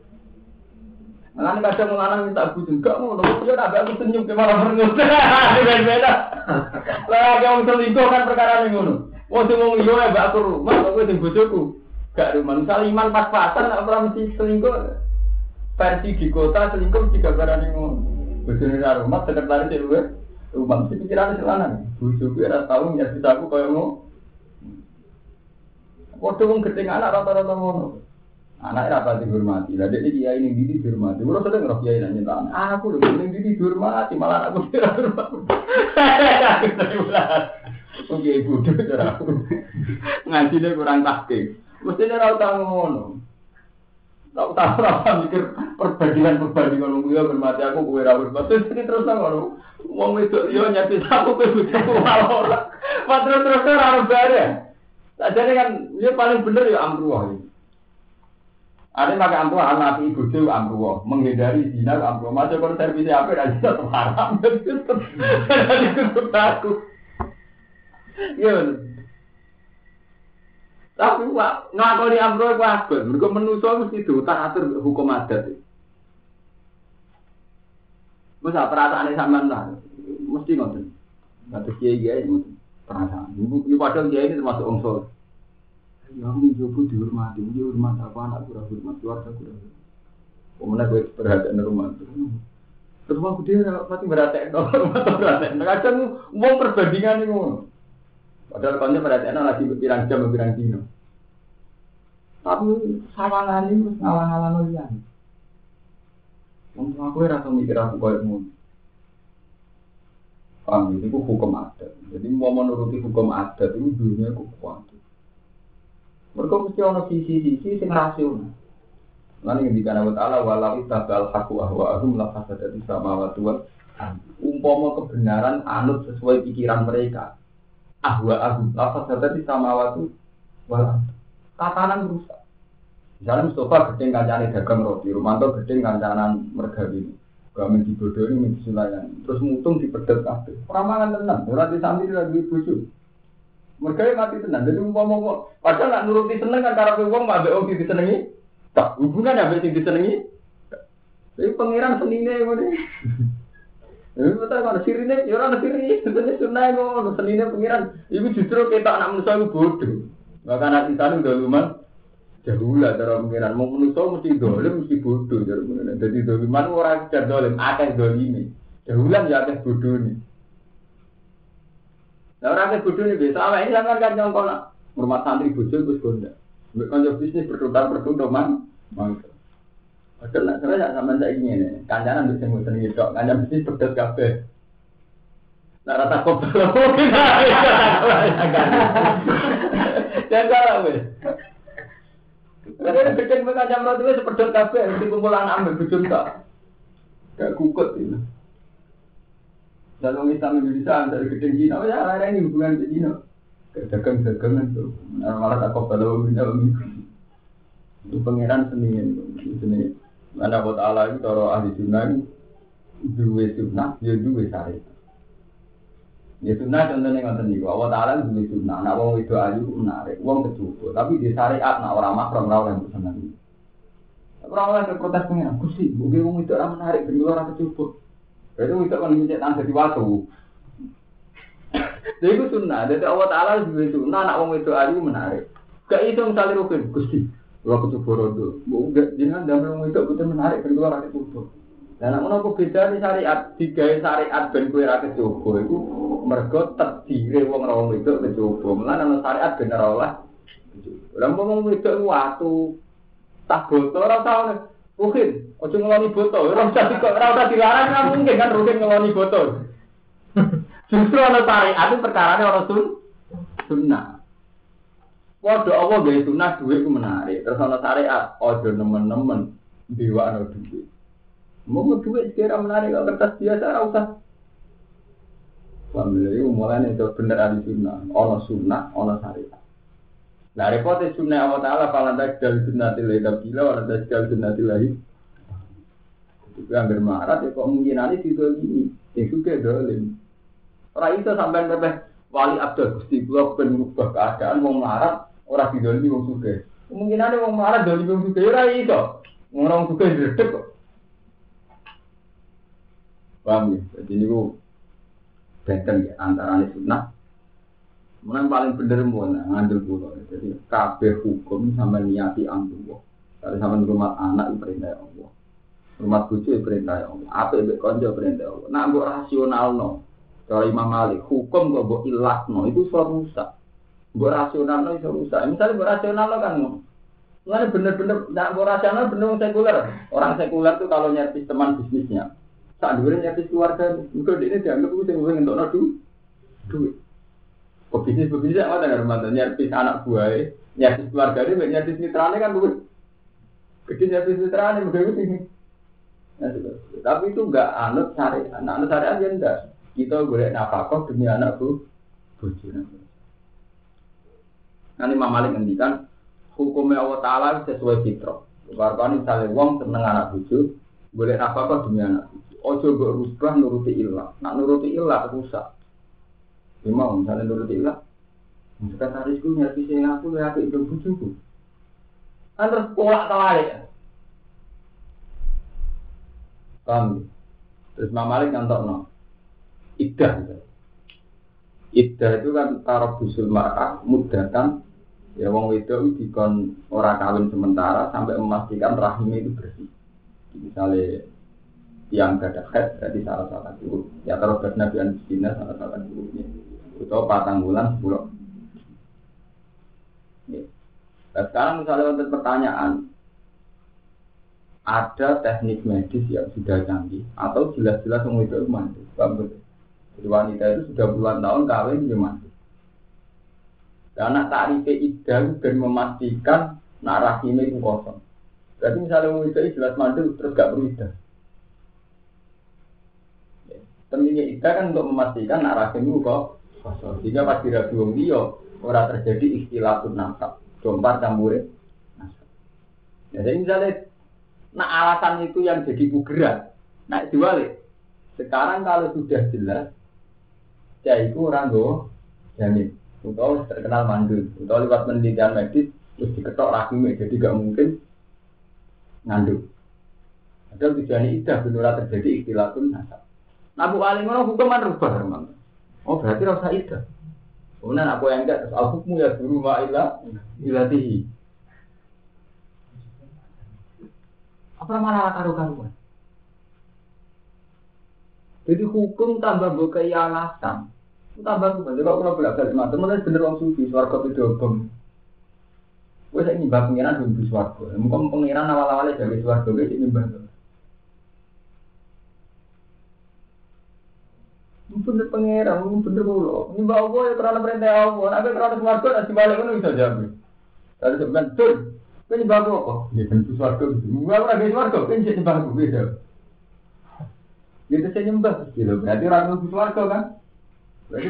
Lan kadang lanang minta bojo gak ngono, yo tak aku senyum ke malah merengut. Beda-beda. Lah yang selingkuh kan perkara ngono. Wong sing wong liya mbak aku rumah kok kowe sing bojoku. Gak rumah. Misal iman pas-pasan nek ora mesti selingkuh. Versi di kota selingkuh juga barang ngono. Bojone ra rumah sekretaris luwe. Rumah mesti pikirane lanang. Bojoku ora tau nyerdi aku koyo ngono. Waktu wong gedeng anak rata-rata ngono. Anak rapat dihormati. Lah dek iki kiai ning ndi dihormati. Kulo sedeng roh kiai nang nyentak. Aku lho ning ndi dihormati malah aku ora dihormati. Oke ibu cara aku. Ngajine kurang tahqiq. Mestine ora tau ngono. Tak tahu ora mikir perbandingan-perbandingan wong liya hormati aku kowe ora hormati. Terus ngono. Wong wedok yo nyati aku kowe bojoku ora. Terus-terus ora bare. Jadi kan, dia paling benar ya amruwah. Ada pakai amruwah, anak ibu itu amruwah, menghindari zina amruwah. Macam kalau servisnya apa, dan kita terharam. Jadi itu aku. Iya. Tapi ngakoni amruwah itu agak. Mereka menusuk mesti diutar-atur hukum adat. Masa perasaannya sama lah. Mesti ngerti. Kata kiai-kiai ngerti. Perasaan. Ini padahal dia ini termasuk unsur. Ya aku mencoba dihormati, dia hormat apa anak kurang hormat, keluarga kurang hormat. Kemudian gue perhatian rumah itu. Terus aku dia pasti berhatian, hormat atau berhatian. Kadang mau perbandingan itu. Padahal konten perhatian lagi berpirang jam, berpirang dino. Tapi sawangan ini ngalang-ngalang olian. Aku rasa mikir aku kayak mau. Paham, itu hukum adat. Jadi mau menuruti hukum adat itu dunia aku kuat. Mereka mesti ada sisi-sisi yang rasional. Lan ngendikan Allah Taala walau tabal haqu ahwa'ahum la fasadati samawati wal umpama kebenaran anut sesuai pikiran mereka. Ahwa'ahum la fasadati samawati wal tatanan rusak. Misalnya Mustafa gedeng kancane dagang roti, Romanto gedeng kancanan mergawi. Gamen dibodohi mesti sulayan. Terus mutung dipedet kabeh. Ora mangan tenan, ora disambit lagi bojo. Mergawe mati tenan. Jadi umpama kok padahal nak nuruti seneng kan karepe wong ambek wong disenengi. Tak hubungan ambek sing disenengi. Jadi pangeran senine ngene. Ini betul kan sirine ya ora sirine, sebenarnya sunah ngono senine pangeran. Iku justru ketok anak manusa iku bodoh. Maka anak kita udah lumayan jauh lah cara pengiran. Mau manusia mesti dolim, mesti bodoh cara pengiran. Jadi doliman orang tidak dolim, akeh dolimi. Jauh lah ya akeh bodoh ni. Nah orang akeh bodoh ni biasa. Awak ini sangat kan nyongkol nak rumah santri bodoh terus gonda. Kalau bisnis bertukar bertukar man, mangkel. Padahal nak saya tak sama saya ingin ni. Kancanan bisa ngusen gitu. Kancanan bisnis pedas kafe. Nak rata kopi mungkin jangan kalah weh. Kadang gedeng berkacang roti weh sepedot kafe. Mesti kumpulan ambil bujum tak. Kayak kukut ini. Dalam Islam Indonesia dari gedeng Cina. Oh ya ada ini hubungan ke Cina. Dagang-dagangan tu. Malah tak kopi dalam minta itu pangeran seni seni. Mana buat Allah itu kalau ahli sunnah itu dua sunnah, dia dua syariat. Ya sunnah contohnya ngoten niku. Allah Taala duwe sunnah. Nek wong itu ayu menarik, wong kecukup. Tapi di syariat nek ora mahram ora oleh seneng. Ora oleh protes pengen. Gusti, mungkin wong itu ora menarik ben ora kecukup. Berarti wong itu kan mencet nang dadi watu. Lha iku sunnah. Dadi Allah Taala duwe sunnah nek wong itu ayu menarik. Gak iso misale rukun, Gusti. Ora kecukup rodo. Mbok jenengan damel wong itu betul menarik ben ora kecukup. Lah nek ngono beda di syariat, digawe syariat ben kowe ra kecoba iku mergo terdire wong ra wong wedok kecoba. Mulane ana syariat ben ora oleh. Lah wong wedok watu tak botol ora tau. Mungkin aja ngeloni botol, ora usah kok ora usah dilarang kan mungkin kan rugen ngeloni botol. Justru ana syariat itu perkarane ora sun sunnah. Waduh Allah gawe sunnah duwe ku menarik. Terus ana syariat aja nemen-nemen diwakno duwe. Mau duit sekira menarik kalau kertas biasa, tak usah. Alhamdulillah, mulai itu benar ada sunnah, ono sunnah, ono syariat. Nah, repotnya sunnah Allah Taala, kalau anda sekali sunnah tilai tabila, kalau anda sekali sunnah tilai. Itu yang bermarat, ya kok mungkin nanti itu ini, yang suka dolim. Orang itu sampai sampai wali abdul gusti gua penubah keadaan, mau melarat, orang didolimi mau suka. Mungkin ada mau melarat dolimi mau suka, orang itu, orang suka diredek kok. Paham ya? Jadi ini ku benten ya, antara ini sunnah yang paling bener mana, ngambil pulau. Jadi kabeh hukum sama niati Allah. Kalau sama rumah anak itu perintah Allah, rumah bucu itu perintah Allah, apa itu konco perintah Allah. Nah, buat rasional no. Kalau Imam Malik, hukum kok buat ilat no, itu suatu rusak. Buat rasional no itu rusak. Misalnya buat rasional no kan, mengenai bener-bener, nah buat rasional bener sekuler. Orang sekuler itu kalau nyari teman bisnisnya. Tak dulu nyari keluarga, mungkin ini dianggap itu yang untuk nadu, duit. Pebisnis pebisnis apa dengan rumah nyari anak buah, nyari keluarga ini, nyari mitranya kan duit. Gede nyari mitranya, mungkin itu ini. Tapi itu enggak anut syariat, anut syariat aja enggak. Kita boleh nafkah demi anak bu, bujuran. Nanti Imam Malik ngendikan hukumnya Allah Taala sesuai fitrah. Kalau misalnya wong seneng anak buju, boleh nafkah demi anak buju. Ojo berubah nuruti ilah. Nak nuruti ilah rusak. Ya mau misalnya nuruti ilah. Sekretarisku nyari saya aku ya aku itu bujuku. Kan terus kolak terbalik. Paham? Terus Imam Malik ngantok no. Iddah. Iddah itu kan taraf busul mar'ah mudah kan. Ya wong wedok dikon ora kawin sementara sampai memastikan rahimnya itu bersih. Misalnya yang gak ada head berarti salah satu ya terus Nabi An-Sina salah satu gurunya itu patang bulan sepuluh ya. Nah, sekarang misalnya untuk pertanyaan ada teknik medis yang sudah canggih atau jelas-jelas semua itu mandi jadi wanita itu sudah puluhan tahun kawin dia mandi karena tarif iddah dan memastikan nak rahimnya itu kosong Berarti misalnya mau itu jelas mandul terus gak perlu idah. Pentingnya idah kan untuk memastikan nak rahim itu kok kosong. Jika pas dirabi wong liya ora terjadi ikhtilafun nasab, jompar campure nasab. Ya, jadi misalnya nak alasan itu yang jadi pugeran, nak diwalik. Sekarang kalau sudah jelas, ya itu orang go jamin. Untuk terkenal mandul, untuk lewat penelitian medis terus diketok rahimnya, jadi gak mungkin ngandung. Ada tujuan idah benar terjadi ikhtilafun nasab. Nabu alim mana hukuman rubah memang. Oh berarti rasa idah. Kemudian aku yang enggak terus al-hukmu ya guru ma'ila ilatihi. Apa malah karu-karuan? Jadi hukum tambah bukai alasan. Tambah bukan. Jadi kalau bolak-balik mata, mulai bener orang sufi swarga pedobong. Gue saya nyembah pengiran belum di swarga. Mungkin pengiran awal-awalnya dari swarga gue sih nyembah. Bener pengiran, bener pulau. Nyembah Allah ya karena perintah Allah. Nabi karena swarga nanti balik pun bisa jawab. Lalu sebenarnya betul. Gue nyembah Allah kok. Ya kan di swarga gitu. Gue pernah di swarga. Gue nyembah Allah beda. Gitu saya nyembah. Gitu. Berarti orang di swarga kan? Berarti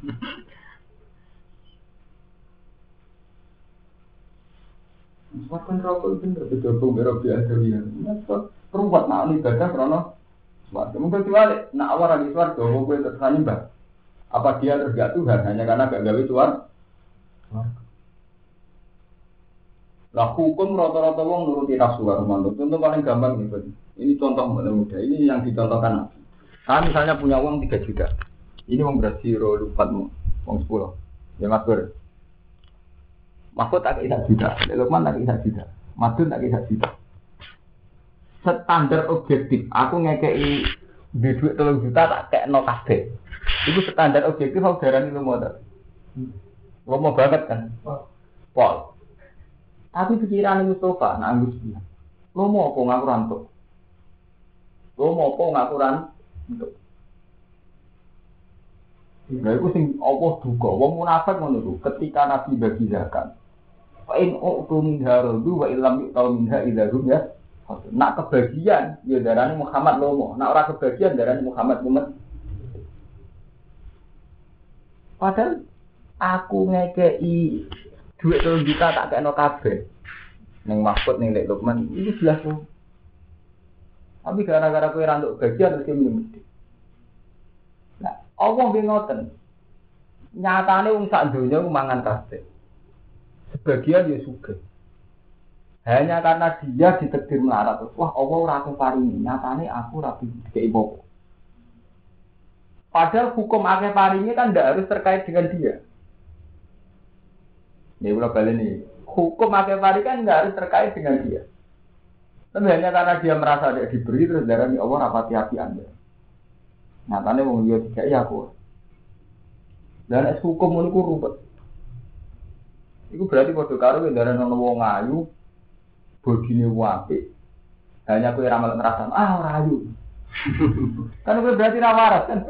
Swarga neraka bener bedobong karo biasa ya. Nek perubat nak ibadah krana swarga. Mungkin diwalik nak awal lagi swarga kok kowe terus nyembah. Apa dia terus gak Tuhan hanya karena gak gawe swarga? Lah hukum rata-rata wong nuruti nafsu karo manut. Contoh paling gampang nih, Pak. Ini contoh mudah. Ini yang dicontohkan. Kan misalnya punya uang tiga juta. Ini uang beras zero lupatmu, uang sepuluh. Ya Mas Bur. Mahfud tak kisah juta, Lukman tak kisah juta, Madun tak kisah juta. Standar objektif, aku ngekei di duit telung juta tak kayak no kabeh. Itu standar objektif aku darani lu mau tak? Lu mau banget kan? Pol. Tapi pikiran Mustafa, nak Agus bilang, lu mau apa ngaku rantuk? Lu mau apa ngaku rantuk? Nah itu sing Allah duga, wong munafik ngono iku. Ketika Nabi bagi zakat, fa in u'tu min haradu wa illam yu'tal minha idahum ya. Nak kebagian ya darane Muhammad lomo, nak ora kebagian darane Muhammad mumet. Padahal aku ngekei duit telung juta tak kena kabeh. Ning Mahfud ning Lek Lukman iki jelas lho. Tapi gara-gara kowe ra nduk bagian terus minum. Nah, Allah nggih ngoten. Nyatane wong sak donya ku mangan kabeh. Sebagian ya sugih. Hanya karena dia ditakdir melarat. Wah, Allah ora aku paringi. Nyatane aku ra dikei apa. Padahal hukum akeh paringi kan ndak harus terkait dengan dia. Ini ulah balik nih. Hukum akeh paringi kan ndak harus terkait dengan dia. Tapi hanya karena dia merasa dia diberi terus darani Allah rapati hati Anda. Nyatane wong liya dikei aku. Dan es hukum ngono ku rupet. Iku berarti padha karo ndarani ana wong ayu, bodine apik. Hanya kowe ra melok ngrasa, ah ora ayu. Kan kowe berarti ra waras kan.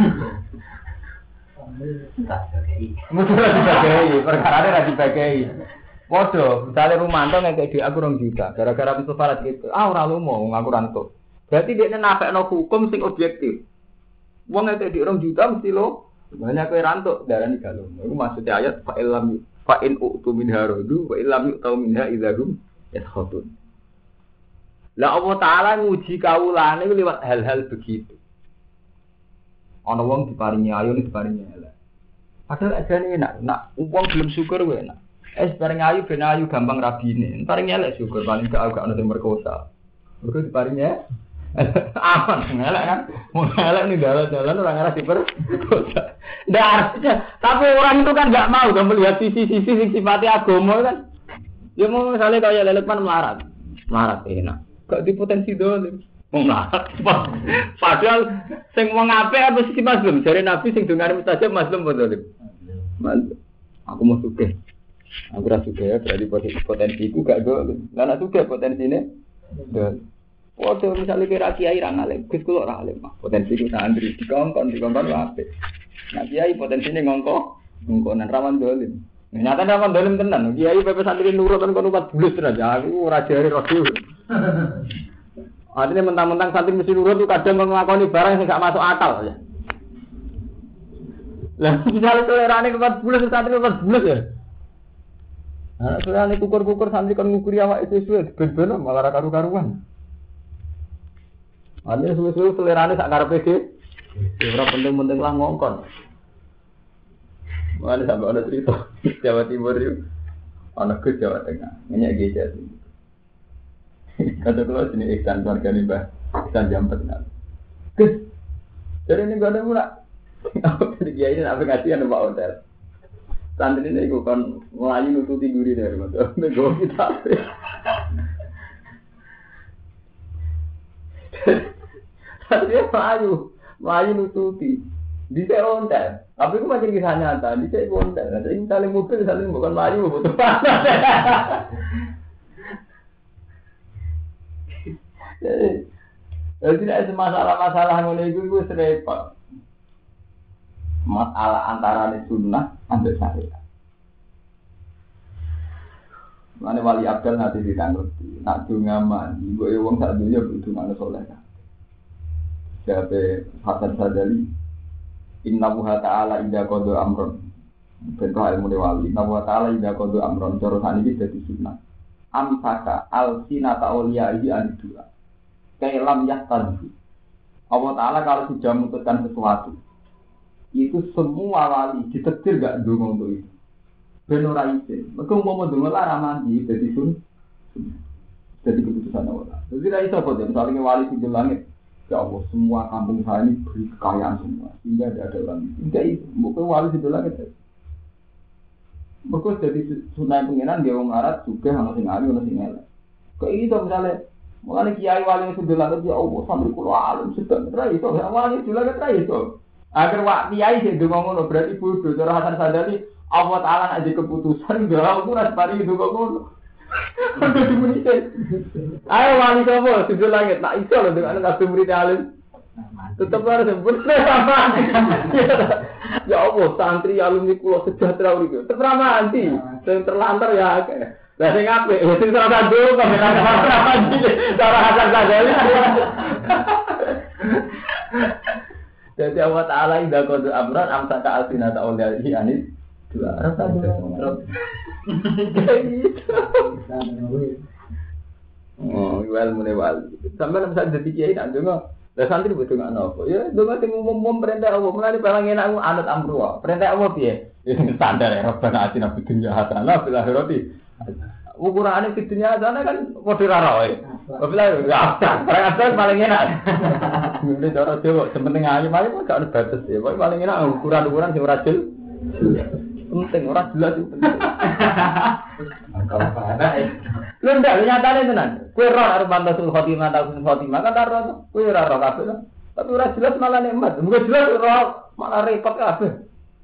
Tak dibagi. Mesti dibagi, perkarane ra dibagi. Padha, misale Rumanto ngekek di aku rong juta, gara-gara Mustafa ra gitu. Ah ora lumo wong aku rantuk. Berarti dekne napekno hukum sing objektif. Wong ngekek di rong juta mesti lo banyak kowe rantuk darani galung. Iku maksudnya ayat fa illam fa in u'tu min haradu wa illam yu'tau minha idzahum yaskhutun. Lah Allah Taala nguji kawulane lewat hal-hal begitu. Ana wong diparingi ayu diparingi elek. Padahal ajane enak, nak wong belum syukur wae enak. Es bareng ayu ben ayu gampang rabine. Paring elek syukur paling gak gak ono sing merkosa. Mergo diparingi aman elek kan. Mau elek nih dalan-dalan orang arah diperkosa. Ndak artinya, tapi orang itu kan enggak mau kan melihat sisi-sisi sing sifatnya agama kan. Ya mau misalnya kayak Lelekman melarat. Melarat enak. Gak di potensi dolim. Wong melarat. Padahal sing wong apik apa sisi mazlum? Jare Nabi sing dongane mustajab mazlum apa dolim? Mazlum. Aku mau sugih. Aku ra sugih ya berarti potensiku gak dolim. Lah nek sugih potensine dolim. Waduh misalnya kira kiai ra ngalim, Gus kula ra alim mah. Potensiku santri dikongkon dikongkon apik. Nah kiai potensinya ngongko, ngongkonan rawan dolim. Nyata ndak dolim tenan. Kiai P P santri nurut kan kono empat bulan aja. Aku ora jare radio. Artinya mentang-mentang santri mesti nurut tuh kadang nglakoni barang sing gak masuk akal ya. Lah misalnya tolerane empat bulan santri empat bulan ya. Nah, soalnya kukur-kukur santri kan ngukuri awak itu suwe ben-ben malah ra karu-karuan. Artinya suwe-suwe tolerane sak karepe dhewe. Ora penting-penting lah ngongkon. Mana sampai ada cerita Jawa Timur itu, anak ke Jawa Tengah, minyak geja sih. Kata keluar sini Iksan keluarga nih bah, Iksan Jampet nggak. Kes, jadi ini gak ada mula. Aku tadi kiai ini apa ngasih anu Pak Hotel. Santri ini aku kan melayu nututi duri dari mana, nego kita. Santri melayu, melayu nututi. Di saya ontel, tapi aku macam kisah nyata. Di saya ontel, jadi saling mobil, saling bukan melayu, butuh panas. Jadi, jadi tidak ada masalah-masalah mulai itu gue serempet. Masalah antara sunnah ambil syariat. Mana wali abdal nanti ditanggung, nak dungaman, ibu ewang saat dunia butuh mana soleh. Siapa Hasan Sadali? Inna wuha ta'ala idha kodo amron. Bentuk ilmu wali. Inna wuha ta'ala idha kodo amron. Jorosan ini jadi sunnah. Amsaka al-sinata awliya'ihi anidua. Kailam yahtanju. Allah Ta'ala kalau sudah memutuskan sesuatu, itu semua wali ditetir gak dulu untuk itu. Benora izin. Mereka mau mendengar lah mandi. Jadi sun. Jadi keputusan Allah. Jadi tidak bisa kok. Misalnya wali di langit. Ya Allah, semua kampung saya ini beri kekayaan semua, sehingga tidak ada orang miskin. Enggak itu, bukan wali di belakang itu. Mereka jadi sunai pengiran dia orang Arab juga harus ngali, harus ngelak. Kayak itu misalnya, mulai kiai wali yang sudah langit ya Allah, sambil kulo alim sedang terai itu, wali sudah langit terai itu. Agar wak kiai sih ngomong berarti bodoh. Cara Hasan Sadali, Allah Taala aja keputusan, galau tuh ras pari itu ngomong. Udah dimunisin. Ayo wali sopo sudah langit tak iso loh dengan kabeh murid alim. Tetep harus sempurna sama. Ya Allah, santri alumni kula sejahtera niku. Tetep mati. Sing terlantar ya akeh. Lah sing apik, sing ora dulu kok ora mati. Cara Hasan Sadali. Jadi Allah Taala indah kode amran amsaka alsinata awliyahi anis dua rasa dua. Oh, jual mulai wali. Sampai bisa jadi kiai nak dengar. Lah santri betul nggak nopo. Ya, dengar temu mom perintah Allah. Mulai paling enak aku anut amruwa. Perintah Allah piye? Ya standar ya. Rabbana atina fid dunya hasanah fil akhirati. Ukurane fid dunya hasanah kan kode rara wae. Bila ya perintah paling enak. Mulai cara Jawa sementing ayu ayu kok gak ada batas ya. Paling enak ukuran-ukuran sing ora jelas. Penting ora jelas itu penting. Kalau ada eh. Lu ndak nyatane tenan. Kowe ora arep mantasul khotimah ta husnul khotimah kan ora kowe ora ora kabeh. Tapi ora jelas malah nikmat. Mungkin jelas ora malah repot kabeh.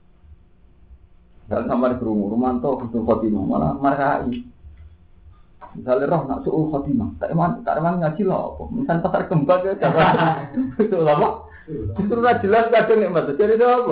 Dan sampai krungu rumanto husnul khotimah malah markai. Misalnya roh nak suul khotimah, tak eman tak eman ngaji lho apa. Misal pasar kembang ya coba. Itu apa? Itu ora jelas kadang nikmat. Jadi apa?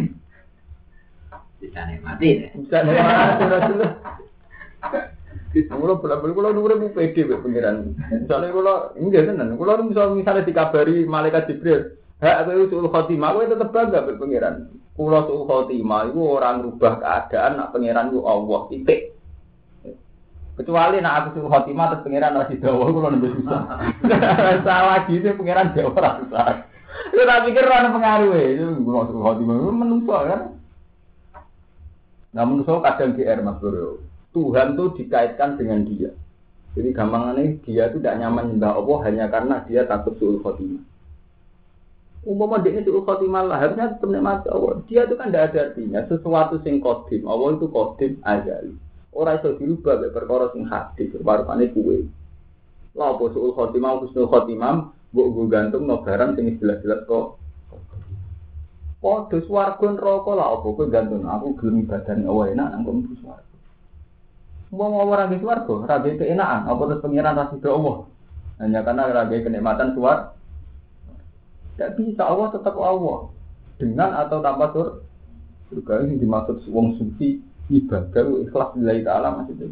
Bisa nikmati deh. Bisa nikmati jelas. Kalau benar-benar kalau nunggu P D pengiran. Misalnya kalau enggak tenan, kalau misalnya misalnya dikabari malaikat Jibril, hak aku suul khotimah, aku tetap bangga pengiran. Kalau suul khotimah itu orang rubah keadaan, nak pengiran itu Allah titik. Kecuali nak aku suul khotimah terus pengiran masih dawa, kalau lebih susah. Salah gitu pengiran jauh orang susah. Itu tak pikir orang pengaruh itu kalau suul khotimah itu menungso kan. Namun so kadang G R Mas Bro. Tuhan tuh dikaitkan dengan dia. Jadi gampangannya dia itu tidak nyaman nyembah Allah hanya karena dia takut suul khotimah. Umpama dia suul khotimah lah harusnya tetap nikmati Allah. Dia itu kan tidak ada artinya sesuatu sing qadim. Allah itu qadim azali. Ora iso dirubah mek perkara sing hadis warupane kuwe. Lah apa suul khotimah husnul khotimah mbok nggo gantungno barang sing jelas-jelas kok. Padha swarga neraka lah apa kowe gantung aku gelem badan Allah enak nang mlebu swarga. Mau ora nggih swarga, ora nggih keenakan, apa terus pengiran ra sida Allah. Hanya karena ora nggih kenikmatan swarga. Tidak bisa Allah tetap Allah dengan atau tanpa sur. Surga ini dimaksud wong suci ibadah ikhlas lillahi ta'ala maksudnya.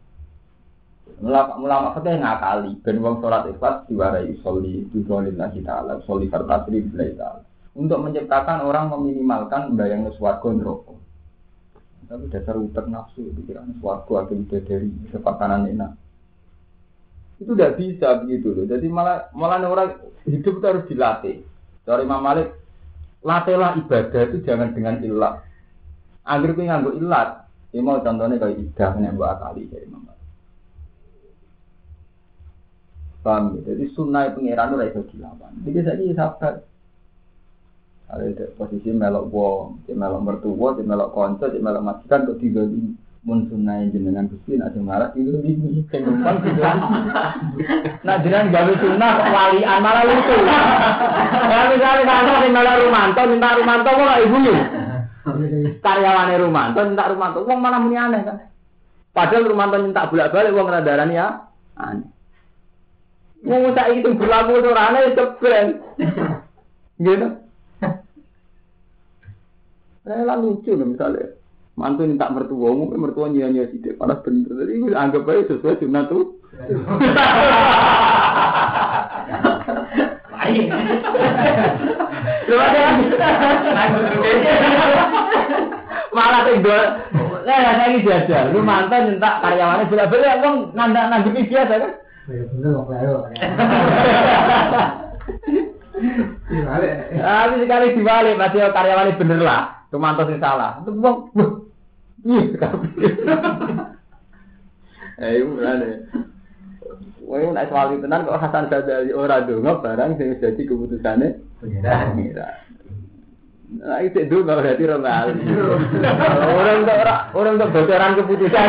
Ulama fikih ngakali ben wong salat ikhlas diwarai sholli lillahi ta'ala, sholli fartasri lillahi ta'ala. Untuk menciptakan orang meminimalkan bayang swarga neraka. Tapi dasar utek nafsu pikiran swarga akan dari sepakanan enak. Itu tidak bisa begitu loh. Jadi malah malah orang hidup itu harus dilatih. Dari Imam Malik, latihlah ibadah itu jangan dengan ilat. Agar kita nganggo ilat. Ini mau contohnya kayak idah yang buat kali dari Imam Malik. Paham ya? Jadi sunnah pengiran itu bisa dilawan. Jadi saya sabar. Ada posisi melok wong, di melok mertua, di melok konco, di melok majikan kok tiga ini mun sunai jenengan Gusti nek marah tiga ini sing numpang tiga ini. Nah jenengan gawe sunah walian malah lucu. Ya misalnya kantor sing melok Rumanto minta Rumanto kok ibu yo. Karyawane Rumanto minta Rumanto, wong malah muni aneh kan. Padahal Rumanto minta bolak-balik wong ngradarani ya aneh. Wong saiki itu berlaku ora aneh cepet. Gitu. Saya lah lucu nih misalnya mantu minta mertua, mungkin mertua nyanyi sidik, panas bener. Jadi anggap aja sesuai sunnah tuh. Lain. Coba deh. Malah tinggal. Nah, saya ini jajal. Lu mantan minta karyawannya bolak-balik, abang nanda nanggepi biasa kan? Bener kok baru. Dibalik. Ah, sekali dibalik, masih karyawannya bener lah. Cuma antos yang salah. Itu bang, iya kabeh. Eh, mulane. Woi, nek soal tenan kok Hasan Ghazali ora ndonga barang sing dadi keputusane pengira. Nah, itu dulu berarti ora ngali. Orang untuk orang untuk bocoran keputusan.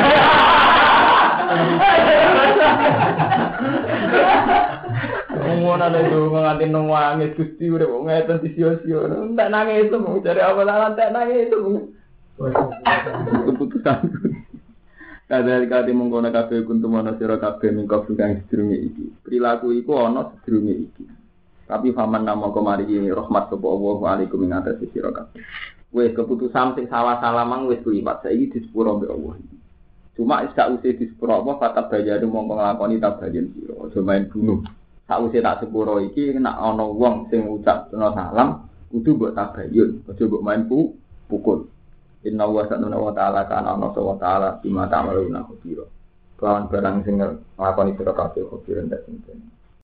Ngono ana itu nganti nangis Gusti urip kok ngeten disio-sio. Entek nangis itu mau cari apa lah entek nangis itu. Keputusan. Kadang kali mengkono kabeh kuntum ana sira kabeh mingko kang sedurunge iki. Perilaku iku ana sedurunge iki. Tapi faman namo kemari rahmat sapa Allah alaikum ing atas sira kabeh. Wis keputusan sing salah-salah mang wis kuliwat saiki disepuro mbek Allah. Cuma sak usih disepuro apa fatab bayane mongko nglakoni tabayen sira. Aja main bunuh. Sakwise tak sepuro iki nek ana wong sing ngucap salam kudu mbok tabayun, aja mbok main pu pukul. Inna wa subhanahu wa ta'ala kana ana wa ta'ala bima ta'maluna khabira. Kawan barang sing nglakoni sira kabeh khabira ndak sing